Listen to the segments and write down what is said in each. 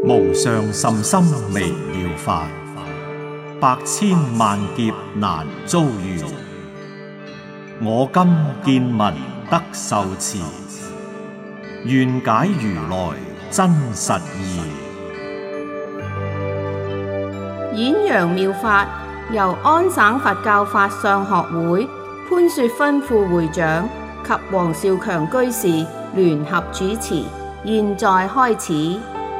無上甚深微妙法，百千萬劫難遭遇。我今見聞得受持，願解如來真實義。 演揚妙法由安省佛教法相學會潘雪芬副會長及黃少強居士聯合主持，現在開始。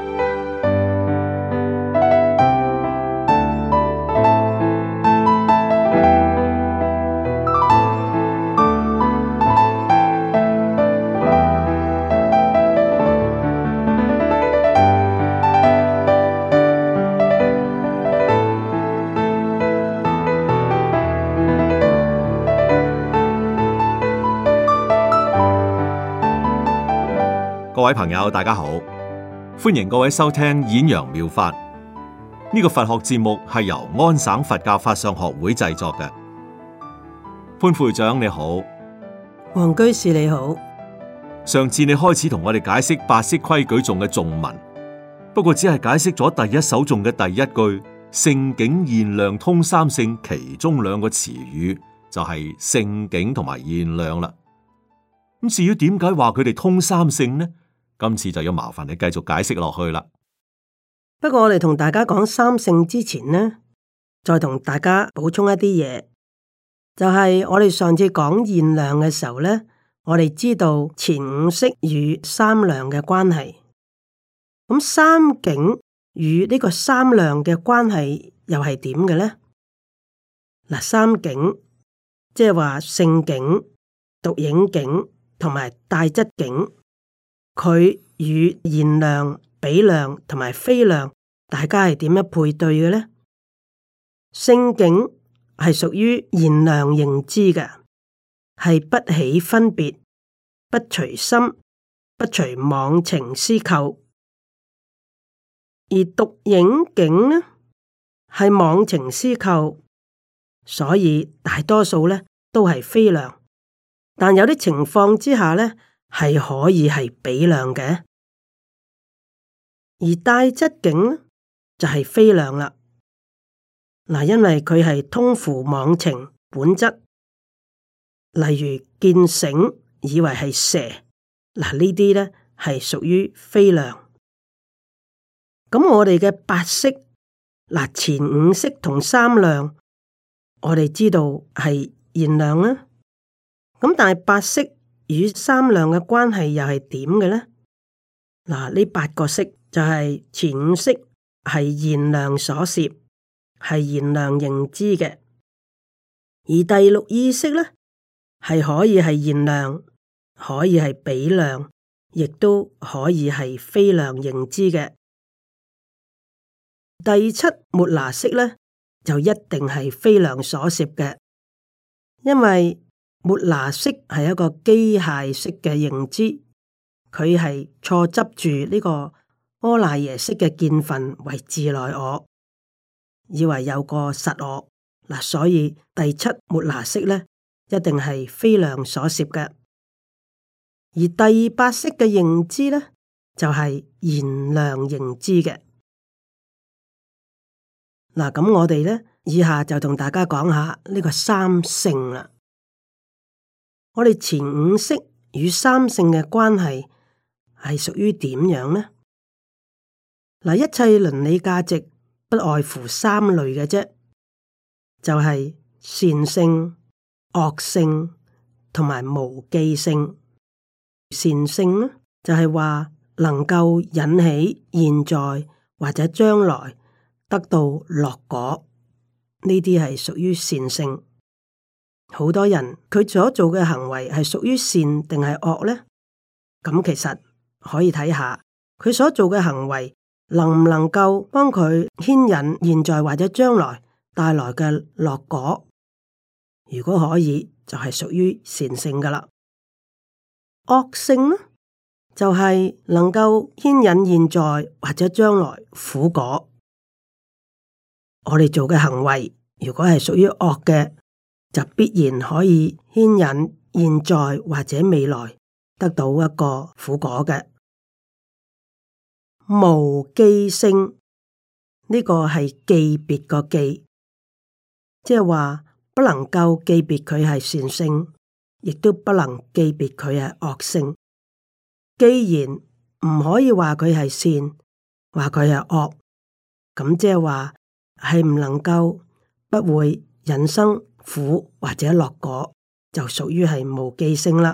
各位朋友，大家好，歡迎各位收聽演揚妙法。呢個佛學節目係由安省佛教法相學會製作嘅。潘副會長你好， 黃居士你好。 上次你開始同我哋解釋八識規矩頌嘅頌文，不過只係解釋咗第一首頌嘅第一句性境現量通三性，其中兩個詞語就係性境同埋現量啦。咁至於點解話佢哋通三性呢？今次就要麻煩你繼續解釋落去啦。 不過我哋同大家講三性之前呢，再同大家補充一啲嘢，就係我哋上次講現量嘅時候呢，我哋知道前五識與三量嘅關係。咁三境與呢個三量嘅關係又係點嘅呢？嗱，三境即係話性境、獨影境同埋帶質境。佢與現量、比量同埋非量，大家係點樣配對嘅呢？性境係屬於現量認知嘅，係不起分別、不隨心、不隨妄情思構；而獨影境呢，係妄情思構，所以大多數呢都係非量，但有啲情況之下呢，係可以係比量嘅，而帶質境呢就係非量啦。嗱，因為佢係通乎妄情本質，例如見繩以為係蛇，嗱呢啲咧係屬於非量。咁我哋嘅八識，嗱前五識同三量，我哋知道係現量啦。咁但係八識與三量嘅關係又係點嘅呢？嗱，呢八個識就係前五識係現量所攝，係現量認知嘅；而第六意識呢，係可以係現量，可以係比量，亦都可以係非量認知嘅。第七末那識呢，就一定係非量所攝嘅，因為末那識係一個機械式嘅認知，佢係錯執住呢個阿賴耶識嘅見分為自內我，以為有個實我嗱，所以第七末那識咧一定係非量所攝嘅。而第八識嘅認知咧就係現量認知嘅。嗱，咁我哋咧以下就同大家講下呢個三性啦。我哋前五識與三性嘅關係係屬於點樣呢？嗱，一切倫理價值不外乎三類嘅啫，就係善性、惡性同埋無記性。善性呢，就係話能夠引起現在或者將來得到樂果，呢啲係屬於善性。好多人佢所做嘅行為係屬於善定係惡呢？咁其實可以睇下佢所做嘅行為能唔能夠幫佢牽引現在或者將來帶來嘅樂果。如果可以，就係屬於善性噶啦。惡性呢，就係能夠牽引現在或者將來苦果。我哋做嘅行為如果係屬於惡嘅，就必然可以牽引現在或者未來得到一個苦果嘅。 無記性，呢個係記別個記，即係話不能夠記別佢係善性，亦都不能記別佢係惡性。既然唔可以話佢係善，話佢係惡，咁即係話係唔能夠不會引生苦或者樂果，就屬於係無記性啦。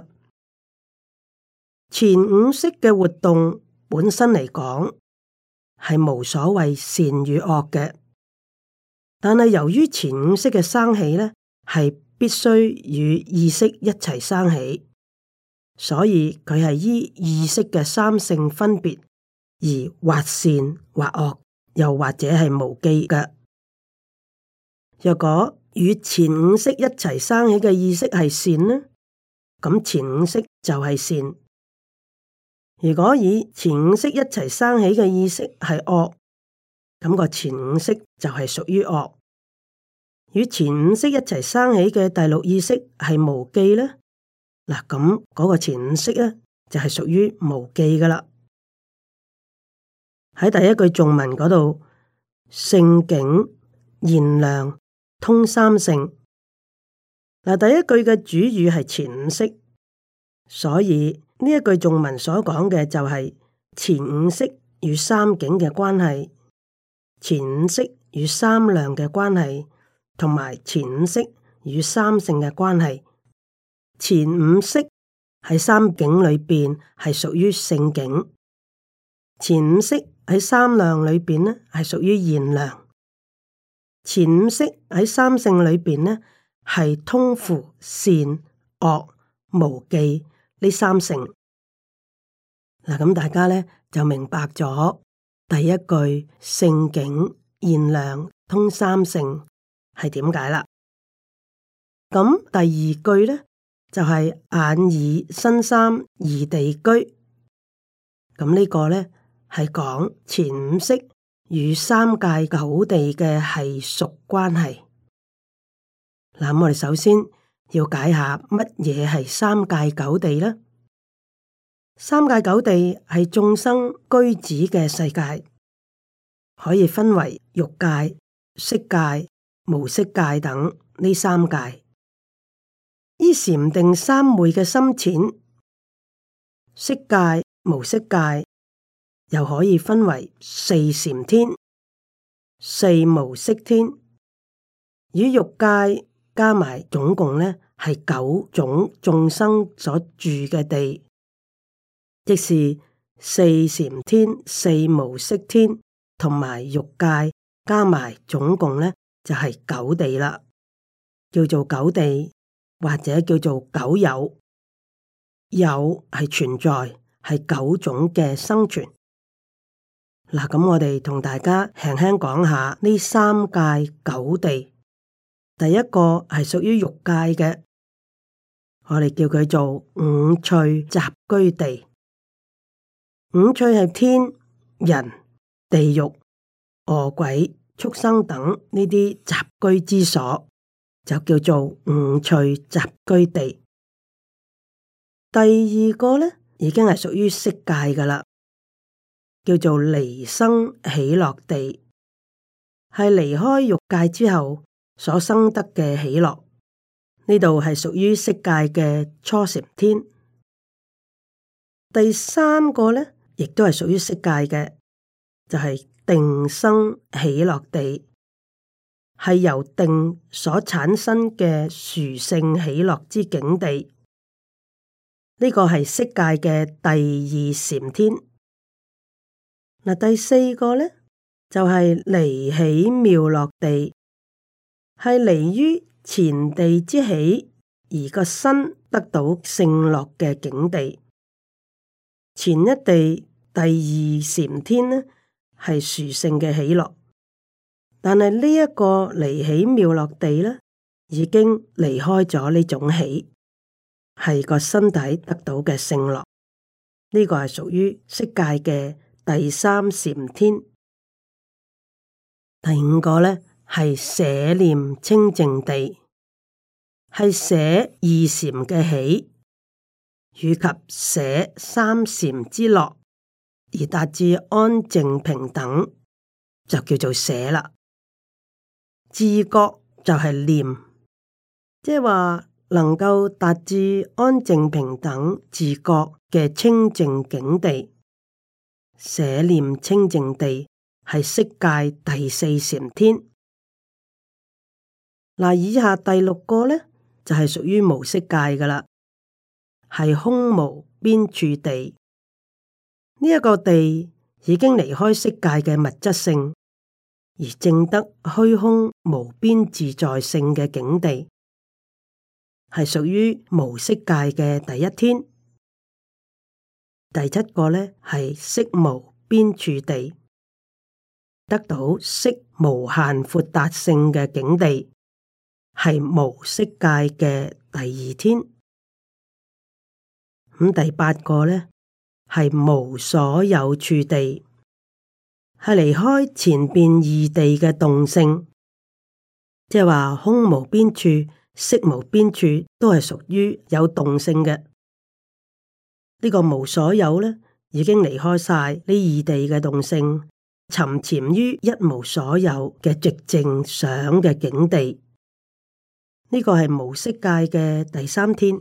前五識嘅活動本身嚟講係無所謂善與惡嘅，但係由於前五識嘅生起呢，係必須與意識一齊生起，所以佢係依意識嘅三性分別而或善或惡，又或者係無記嘅。若果與前五識一齊生起嘅意識係善呢，咁前五識就係善。如果以前五識一齊生起嘅意識係惡，咁個前五識就係屬於惡。與前五識一齊生起嘅第六意識係無記呢，嗱咁嗰個前五識呢就係屬於無記噶啦。喺第一句頌文嗰度，性境現量通三性。嗱，第一句嘅主語係前五識，所以呢一句頌文所講嘅就係前五識與三境嘅關係，前五識與三量嘅關係，同埋前五識與三性嘅關係。前五識喺三境裏邊係屬於性境，前五識喺三量裏邊呢係屬於現量，前五識喺三性裏邊呢係通乎善惡無記呢三性。嗱，咁大家呢就明白咗第一句性境現量通三性係點解啦。咁第二句呢就係眼耳身三異地居。咁呢個呢係講前五識與三界九地嘅係屬關係。嗱，我哋首先要解下乜嘢係三界九地呢？三界九地係眾生居止嘅世界，可以分為欲界、色界、無色界等呢三界。依禪定三昧嘅深淺，色界、無色界又可以分為四禪天、四無色天，與欲界加埋總共呢係九種眾生所住嘅地。即是四禪天、四無色天同埋欲界加埋總共呢就係九地啦，叫做九地或者叫做九有。有係存在，係九種嘅生存。嗱，咁我哋同大家輕輕講下呢三界九地。第一個係屬於欲界嘅，我哋叫佢做五趣雜居地。五趣係天、人、地獄、餓鬼、畜生等呢啲雜居之所，就叫做五趣雜居地。第二個呢，已經係屬於色界㗎喇，叫做離生喜樂地，係離開欲界之後所生得嘅喜樂。呢度係屬於色界嘅初禪天。第三個呢，亦都係屬於色界嘅，就係定生喜樂地，係由定所產生嘅殊勝喜樂之境地。呢個係色界嘅第二禪天。嗱，第四個呢，就係離喜妙樂地，係離於前地之喜而個身得到勝樂嘅境地。前一地第二禪天呢，係殊勝嘅喜樂，但係呢一個離喜妙樂地呢，已經離開咗呢種喜，係個身體得到嘅勝樂。呢個係屬於色界嘅第三禪天。第五個呢，係捨念清淨地，係捨二禪嘅喜，以及捨三禪之樂。 而達至安靜平等，就叫做捨啦。自覺就係念，即係話能夠達至安靜平等自覺嘅清淨境地。捨念清淨地係色界第四禪天。嗱，以下第六個呢，就係屬於無色界噶啦，係空無邊處地。呢一個地已經離開色界嘅物質性，而證得虛空無邊自在性嘅境地，係屬於無色界嘅第一天。第七個呢，係色無邊處地，得到色無限闊達性嘅境地，係無色界嘅第二天。咁第八個呢，係無所有處地，係離開前邊二地嘅動性，即係話空無邊處、色無邊處都係屬於有動性嘅。呢個無所有呢，已經離開晒呢二地嘅動性，沉潛於一無所有嘅寂靜想嘅境地。呢個係無色界嘅第三天。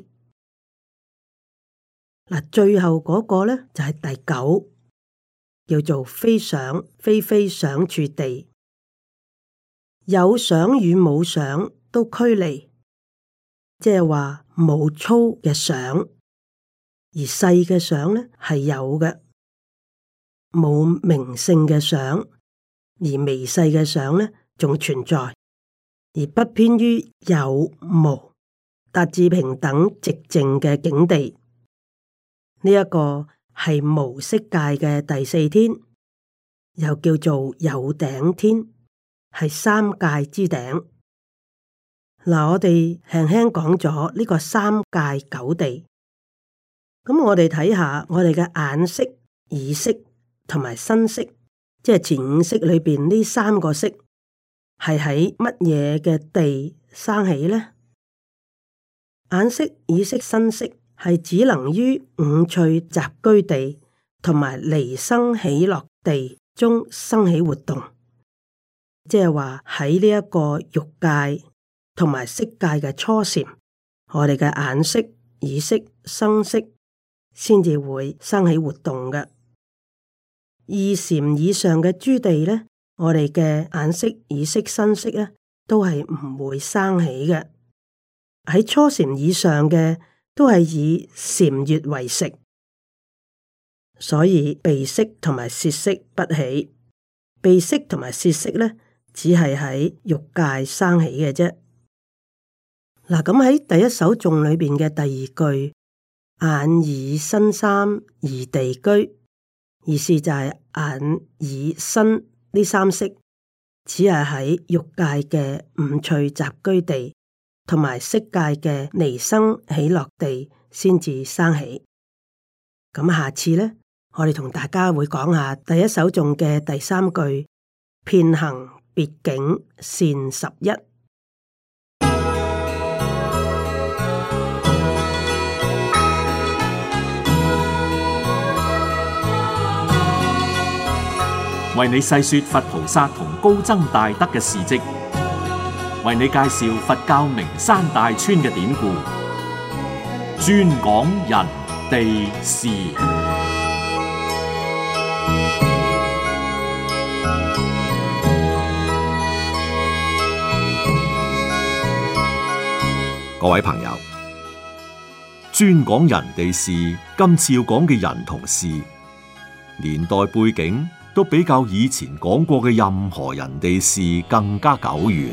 嗱，最後嗰個呢，就係第九，叫做非想非非想處地，有想與冇想都驅離，即係話冇粗嘅想。而細嘅想呢，係有嘅，冇明性嘅想，而微細嘅想呢，仲存在，而不偏於有無，達至平等寂靜嘅境地。呢一個係無色界嘅第四天，又叫做有頂天，係三界之頂。嗱，我哋輕輕講咗呢個三界九地。咁我哋睇下我哋嘅眼識、耳識同埋身識，即係前五識裏邊呢三個識，係喺乜嘢嘅地生起呢？眼識、耳識、身識係只能於五趣集居地同埋離生喜樂地中生起活動，即係話喺呢一個欲界同埋色界嘅初禪，我哋嘅眼識、耳識、身識先至會生起活動嘅。二禪以上嘅諸地呢，我哋嘅眼識、耳識、身識呢，都係唔會生起嘅。喺初禪以上嘅，都係以禪悅為食，所以鼻識同埋舌識不起。鼻識同埋舌識呢，只係喺欲界生起嘅啫。嗱，咁喺第一首頌裏邊嘅第二句，眼耳身三二地居，意思就係眼耳身呢三識，只係喺欲界嘅五趣集居地同埋色界嘅離生喜樂地先至生起。咁下次呢，我哋同大家會講下第一首頌嘅第三句，遍行別境善十一。 為你細說佛菩薩同高僧大德嘅事跡，為你介紹佛教名山大川嘅典故，專講人地事。各位朋友，專講人地事，今次要講嘅人同事，年代背景都比較以前講過嘅任何人地事更加久遠，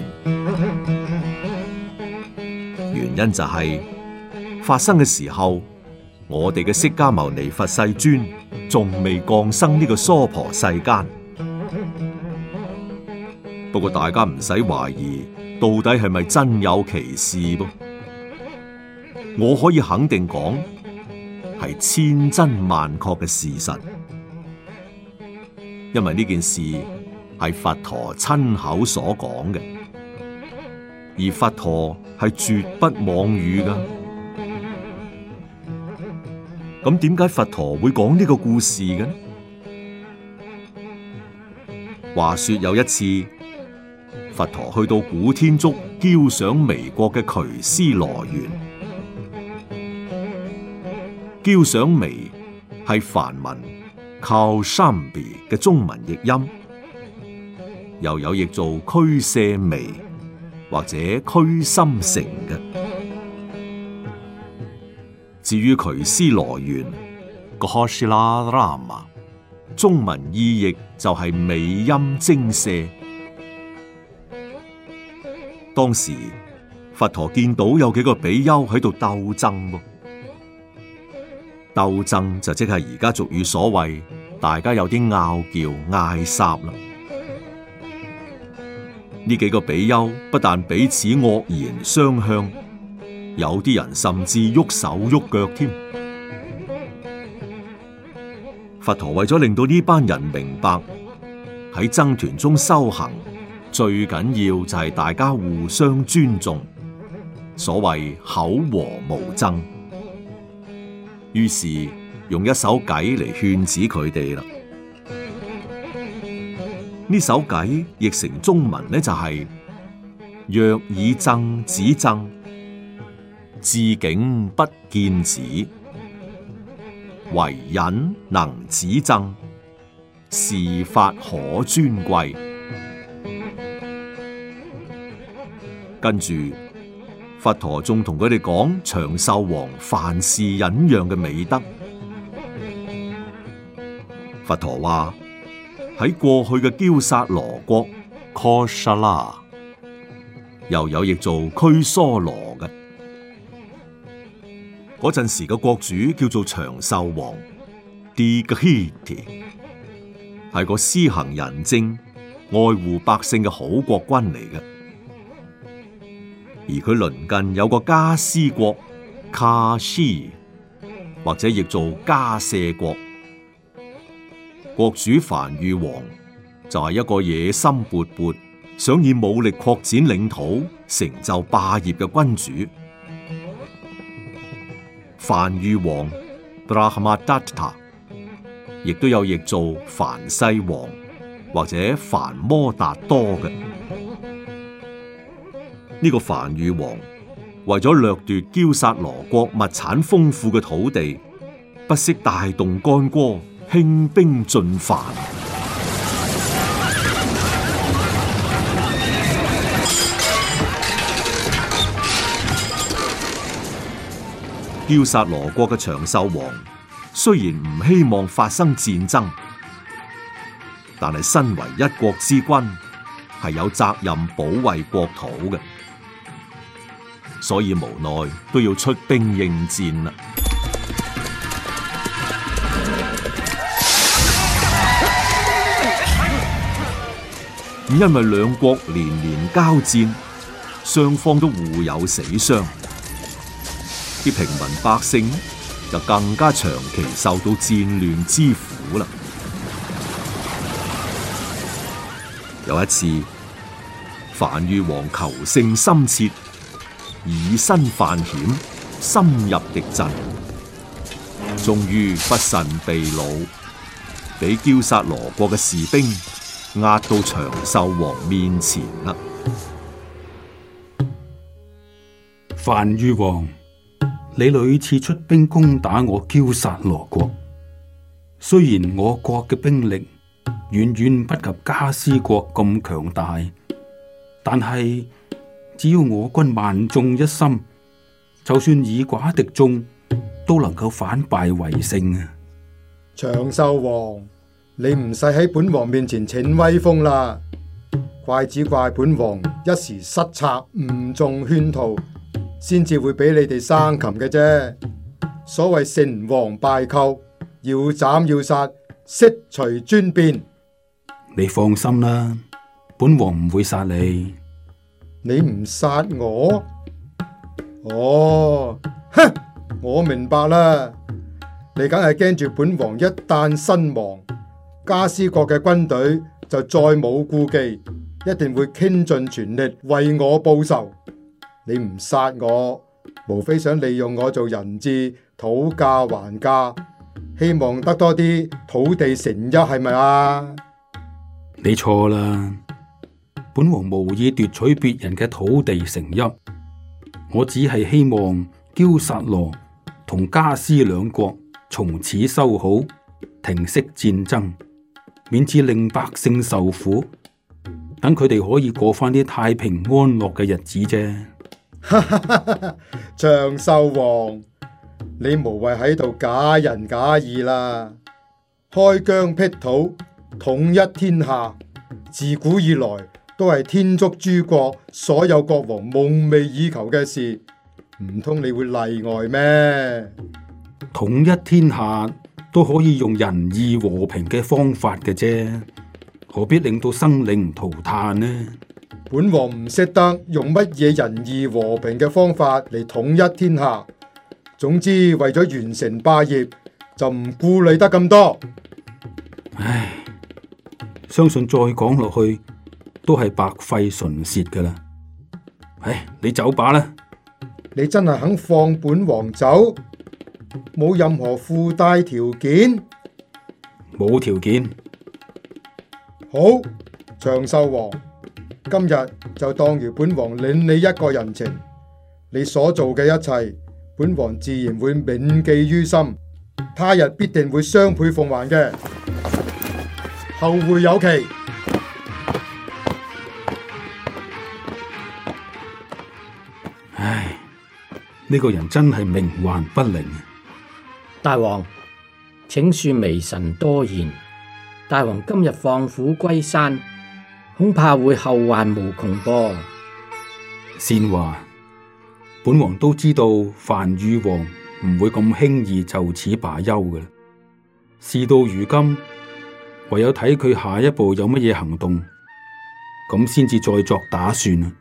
原因就係發生嘅時候，我哋嘅釋迦牟尼佛世尊仲未降生呢個娑婆世間。不過大家唔使懷疑，到底係咪真有其事噃？我可以肯定講，係千真萬確嘅事實。因為呢件事係佛陀親口所講嘅，而佛陀係絕不妄語㗎。咁點解佛陀會講呢個故事嘅呢？ 話說有一次，佛陀去到古天竺憍賞彌國嘅瞿師羅園。憍賞彌係梵文 Kaushambi 嘅中文譯音，又有譯做拘舍彌或者拘心城嘅。至於瞿師羅園 Ghositarama， 中文意譯就係美音精舍。當時佛陀見到有幾個比丘喺度鬥爭噃，鬥爭就即係而家俗語所謂大家有啲拗撬嗌霎啦。呢幾個比丘不但彼此惡言相向，有啲人甚至喐手喐腳添。佛陀為咗令到呢班人明白喺僧團中修行最緊要就係大家互相尊重，所謂口和無爭，於是用一首偈嚟勸止佢哋啦。呢首偈譯成中文呢，就係若以諍止諍，自境不見止，唯忍能止諍，是法可尊貴。跟住佛陀仲同佢哋講長壽王凡事忍讓嘅美德。佛陀話喺過去嘅憍薩羅國 Kosala， 又有譯做拘梭羅嘅。嗰陣時嘅國主叫做長壽王 Dighiti， 係個施行仁政、愛護百姓嘅好國君嚟嘅。而佢鄰近有個迦尸國 Kashi， 或者譯做迦舍國，國主梵豫王就係一個野心勃勃、想以武力擴展領土、成就霸業嘅君主。梵豫王 Brahmadatta 亦都有譯做梵世王或者梵摩達多嘅。呢個梵豫王為咗掠奪憍薩羅國物產豐富嘅土地，不惜大動干戈，興兵進犯。憍薩羅國嘅長壽王雖然唔希望發生戰爭，但係身為一國之君，係有責任保衛國土嘅。所以無奈都要出兵應戰啦。因為兩國連連交戰，雙方都互有死傷，啲平民百姓就更加長期受到戰亂之苦啦。有一次，梵豫王求勝心切，以身犯險，深入敵陣，終於不慎被擄，俾憍薩羅國嘅士兵押到長壽王面前啦。 梵豫王，你屢次出兵攻打我憍薩羅國，雖然我國嘅兵力遠遠不及迦尸國咁強大，但係只要我軍萬眾一心，就算以寡敵眾，都能夠反敗為勝啊！ 長壽王，你唔使喺本王面前逞威風啦，怪只怪本王一時失策，誤中圈套，先至會俾你哋生擒嘅啫。所謂成王敗寇，要斬要殺，悉隨尊便。 你放心啦，本王唔會殺你。 你唔殺我？哦，哼，我明白啦。你梗係驚住本王一旦身亡，迦尸國嘅軍隊就再冇顧忌，一定會傾盡全力為我報仇。你唔殺我，無非想利用我做人質，討價還價，希望得多啲土地成邑，係咪啊？ 你錯啦，本王無意奪取別人嘅土地城邑，我只係希望憍薩羅同迦尸兩國從此修好，停息戰爭，免至令百姓受苦，等佢哋可以過翻啲太平安樂嘅日子啫。 長壽王，你無謂喺度假仁假義啦！開疆闢土，統一天下，自古以來都係天竺諸國所有國王夢寐以求嘅事，唔通你會例外咩？ 統一天下都可以用仁義和平嘅方法嘅啫，何必令到生靈塗炭呢？ 本王唔識得用乜嘢仁義和平嘅方法嚟統一天下。總之為咗完成霸業，就唔顧慮得咁多。 唉，相信再講落去都係白費唇舌噶啦。唉，你走吧啦。 你真係肯放本王走？冇任何附帶條件？ 冇條件。 好，長壽王，今日就當如本王領你一個人情，你所做嘅一切，本王自然會銘記於心，他日必定會雙倍奉還嘅。後會有期。 唉，呢個人真係冥頑不靈。 大王，請恕微臣多言。大王今日放虎歸山，恐怕會後患無窮噃。 善華，本王都知道梵豫王唔會咁輕易就此罷休嘅。事到如今，唯有睇佢下一步有乜嘢行動，咁先至再作打算啊！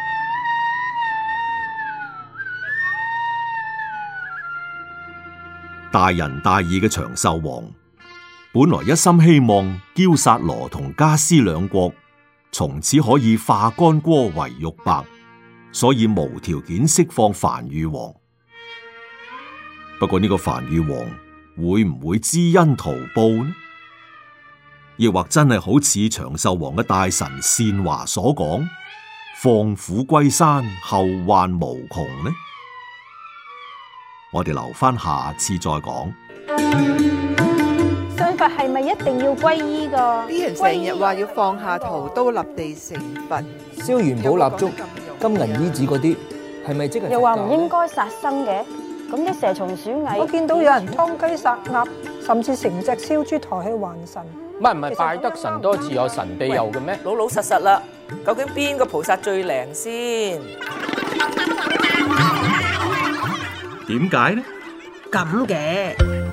大仁大義嘅長壽王，本來一心希望憍薩羅同迦尸兩國從此可以化干戈為玉帛，所以無條件釋放梵豫王。不過呢個梵豫王會唔會知恩圖報呢？亦或真係好似長壽王嘅大臣善華所講，放虎歸山，後患無窮呢？我哋留翻下次再講。 信佛係咪一定要皈依㗎？ 啲人成日話要放下屠刀立地成佛， 燒元寶蠟燭、金銀衣紙嗰啲，係咪即係？ 又話唔應該殺生嘅，咁啲蛇蟲鼠蟻， 我見到有人劏雞殺鴨，甚至成隻燒豬抬去還神。 唔係拜得神多自有神庇佑嘅咩？ 老老實實啦，究竟邊個菩薩最靈先？ 點解呢？ 咁嘅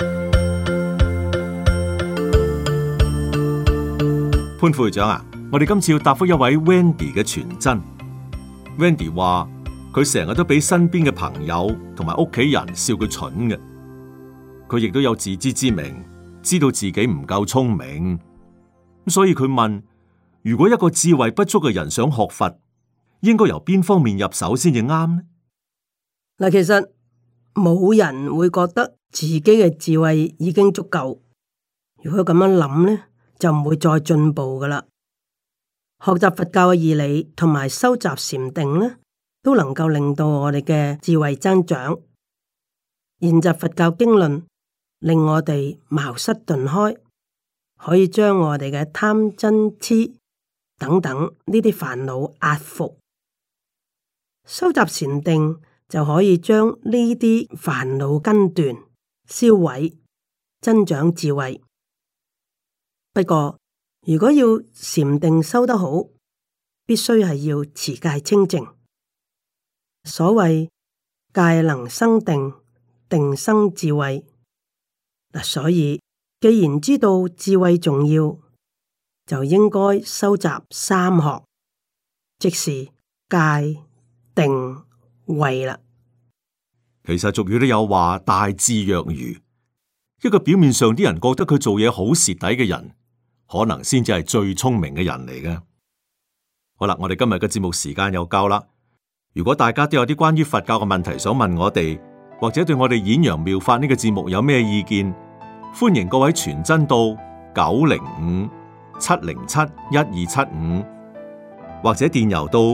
潘副會長啊，我哋今次要答覆一位 Wendy 嘅傳真。Wendy 話佢成日都俾身邊嘅朋友同埋屋企人笑佢蠢嘅，佢亦都有自知之明，知道自己唔夠聰明，所以佢問：如果一個智慧不足嘅人想學佛，應該由邊方面入手先至啱呢？ 嗱，其實冇人會覺得自己嘅智慧已經足夠。如果咁樣諗呢，就唔會再進步噶啦。學習佛教嘅義理同埋修習禪定呢，都能夠令到我哋嘅智慧增長。研習佛教經論，令我哋茅塞頓開，可以將我哋嘅貪嗔癡等等呢啲煩惱壓服。修習禪定就可以將呢啲煩惱根斷、銷毀、增長智慧。不過，如果要禪定修得好，必須係要持戒清淨。所謂戒能生定，定生智慧。嗱，所以既然知道智慧重要，就應該修習三學，即是戒、定、慧啦。 其實俗語都有話大智若愚，一個表面上啲人覺得佢做嘢好蝕底嘅人，可能先至係最聰明嘅人嚟嘅。好啦，我哋今日嘅節目時間又夠啦。如果大家都有啲關於佛教嘅問題想問我哋，或者對我哋演揚妙法呢個節目有咩意見，歡迎各位傳真到 707-1275，或者電郵到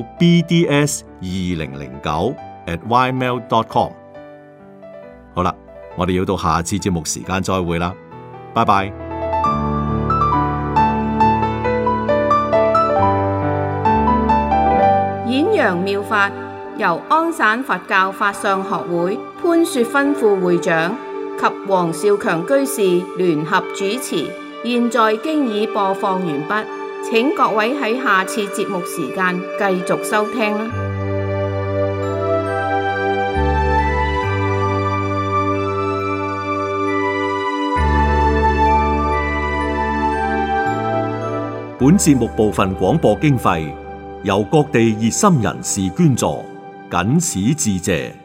bds2009@ymail.com。好啦，我哋要到下次節目時間再會啦，拜拜。 演揚妙法由安省佛教法相學會潘雪芬副會長及黃少強居士聯合主持，現在經已播放完畢，請各位喺下次節目時間繼續收聽啦。 本節目部分廣播經費由各地熱心人士捐助，謹此致謝。